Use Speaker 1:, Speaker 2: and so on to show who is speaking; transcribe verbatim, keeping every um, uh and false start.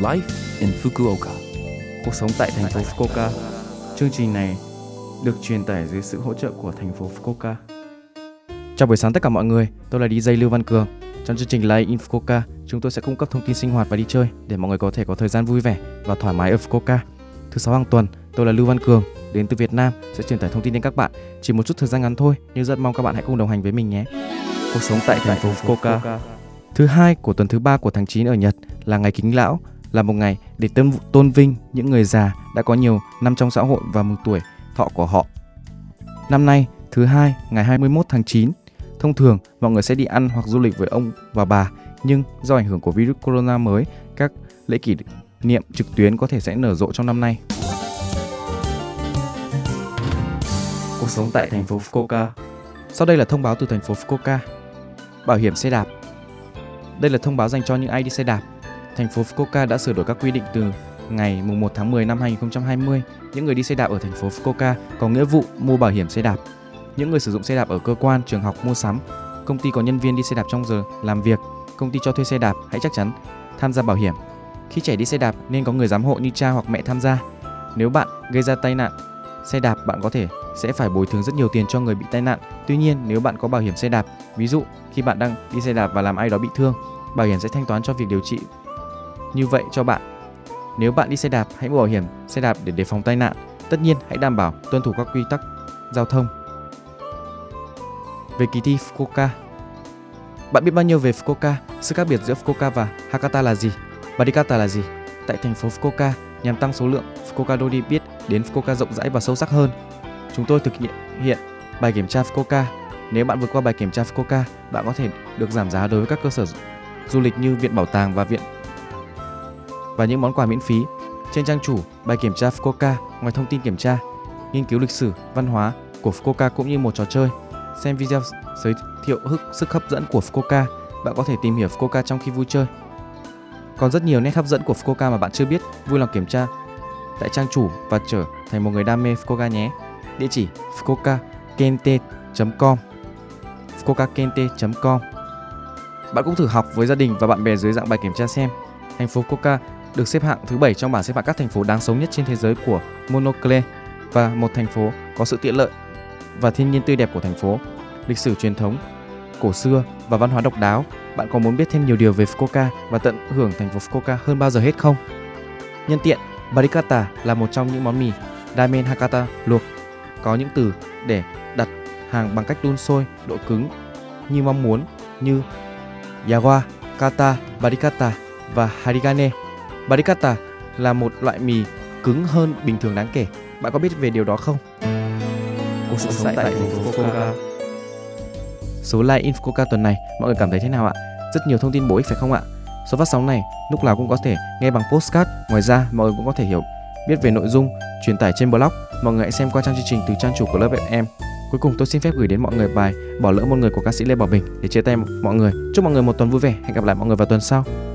Speaker 1: Life in Fukuoka.
Speaker 2: Cuộc sống tại thành phố Fukuoka. Chương trình này được truyền tải dưới sự hỗ trợ của thành phố Fukuoka. Chào buổi sáng tất cả mọi người, tôi là đi jay Lưu Văn Cường. Trong chương trình Life in Fukuoka, chúng tôi sẽ cung cấp thông tin sinh hoạt và đi chơi để mọi người có thể có thời gian vui vẻ và thoải mái ở Fukuoka. Thứ sáu hàng tuần, tôi là Lưu Văn Cường, đến từ Việt Nam, sẽ truyền tải thông tin đến các bạn. Chỉ một chút thời gian ngắn thôi, nhưng rất mong các bạn hãy cùng đồng hành với mình nhé. Cuộc sống tại thành phố Fukuoka. Thứ hai của tuần thứ ba của tháng chín ở Nhật là ngày Kính Lão, là một ngày để tôn, tôn vinh những người già đã có nhiều năm trong xã hội và mừng tuổi thọ của họ. Năm nay, thứ hai, ngày hai mươi mốt tháng chín, thông thường mọi người sẽ đi ăn hoặc du lịch với ông và bà, nhưng do ảnh hưởng của virus corona mới, các lễ kỷ niệm trực tuyến có thể sẽ nở rộ trong năm nay. Cuộc sống tại thành phố Fukuoka. Sau đây là thông báo từ thành phố Fukuoka. Bảo hiểm xe đạp. Đây là thông báo dành cho những ai đi xe đạp. Thành phố Fukuoka đã sửa đổi các quy định từ ngày mùng một tháng mười năm hai nghìn không trăm hai mươi. Những người đi xe đạp ở thành phố Fukuoka có nghĩa vụ mua bảo hiểm xe đạp. Những người sử dụng xe đạp ở cơ quan, trường học, mua sắm, công ty có nhân viên đi xe đạp trong giờ làm việc, công ty cho thuê xe đạp hãy chắc chắn tham gia bảo hiểm. Khi trẻ đi xe đạp nên có người giám hộ như cha hoặc mẹ tham gia. Nếu bạn gây ra tai nạn xe đạp, bạn có thể sẽ phải bồi thường rất nhiều tiền cho người bị tai nạn. Tuy nhiên, nếu bạn có bảo hiểm xe đạp, ví dụ khi bạn đang đi xe đạp và làm ai đó bị thương, bảo hiểm sẽ thanh toán cho việc điều trị như vậy cho bạn. Nếu bạn đi xe đạp, hãy mua bảo hiểm xe đạp để đề phòng tai nạn. Tất nhiên, hãy đảm bảo tuân thủ các quy tắc giao thông. Về kỳ thi Fukuoka. Bạn biết bao nhiêu về Fukuoka? Sự khác biệt giữa Fukuoka và Hakata là gì? Barikata là gì? Tại thành phố Fukuoka, nhằm tăng số lượng Fukuoka Dori biết đến Fukuoka rộng rãi và sâu sắc hơn, chúng tôi thực hiện hiện bài kiểm tra Fukuoka. Nếu bạn vượt qua bài kiểm tra Fukuoka, bạn có thể được giảm giá đối với các cơ sở du lịch như viện bảo tàng và viện và những món quà miễn phí. Trên trang chủ bài kiểm tra Fukuoka, ngoài thông tin kiểm tra, nghiên cứu lịch sử, văn hóa của Fukuoka cũng như một trò chơi, xem video giới thiệu sức hấp dẫn của Fukuoka, bạn có thể tìm hiểu Fukuoka trong khi vui chơi. Còn rất nhiều nét hấp dẫn của Fukuoka mà bạn chưa biết. Vui lòng kiểm tra tại trang chủ và trở thành một người đam mê Fukuoka nhé. Địa chỉ fukuoka kente chấm com fukuoka kente chấm com. Bạn cũng thử học với gia đình và bạn bè dưới dạng bài kiểm tra xem. Thành phố Fukuoka được xếp hạng thứ bảy trong bảng xếp hạng các thành phố đáng sống nhất trên thế giới của Monocle, và một thành phố có sự tiện lợi và thiên nhiên tươi đẹp của thành phố, lịch sử truyền thống cổ xưa và văn hóa độc đáo. Bạn có muốn biết thêm nhiều điều về Fukuoka và tận hưởng thành phố Fukuoka hơn bao giờ hết không? Nhân tiện, Barikata là một trong những món mì ramen Hakata luộc, có những từ để đặt hàng bằng cách đun sôi độ cứng như mong muốn như Yawa, Kata, Barikata và Harigane. Barikata là một loại mì cứng hơn bình thường đáng kể. Bạn có biết về điều đó không? Cuộc sống tại thành phố Fukuoka. Số Live in Fukuoka tuần này mọi người cảm thấy thế nào ạ? Rất nhiều thông tin bổ ích phải không ạ? Số phát sóng này lúc nào cũng có thể nghe bằng podcast. Ngoài ra mọi người cũng có thể hiểu biết về nội dung truyền tải trên blog. Mọi người hãy xem qua trang chương trình từ trang chủ của lớp ép em. Cuối cùng tôi xin phép gửi đến mọi người bài Bỏ lỡ một người của ca sĩ Lê Bảo Bình để chia tay mọi người. Chúc mọi người một tuần vui vẻ. Hẹn gặp lại mọi người vào tuần sau.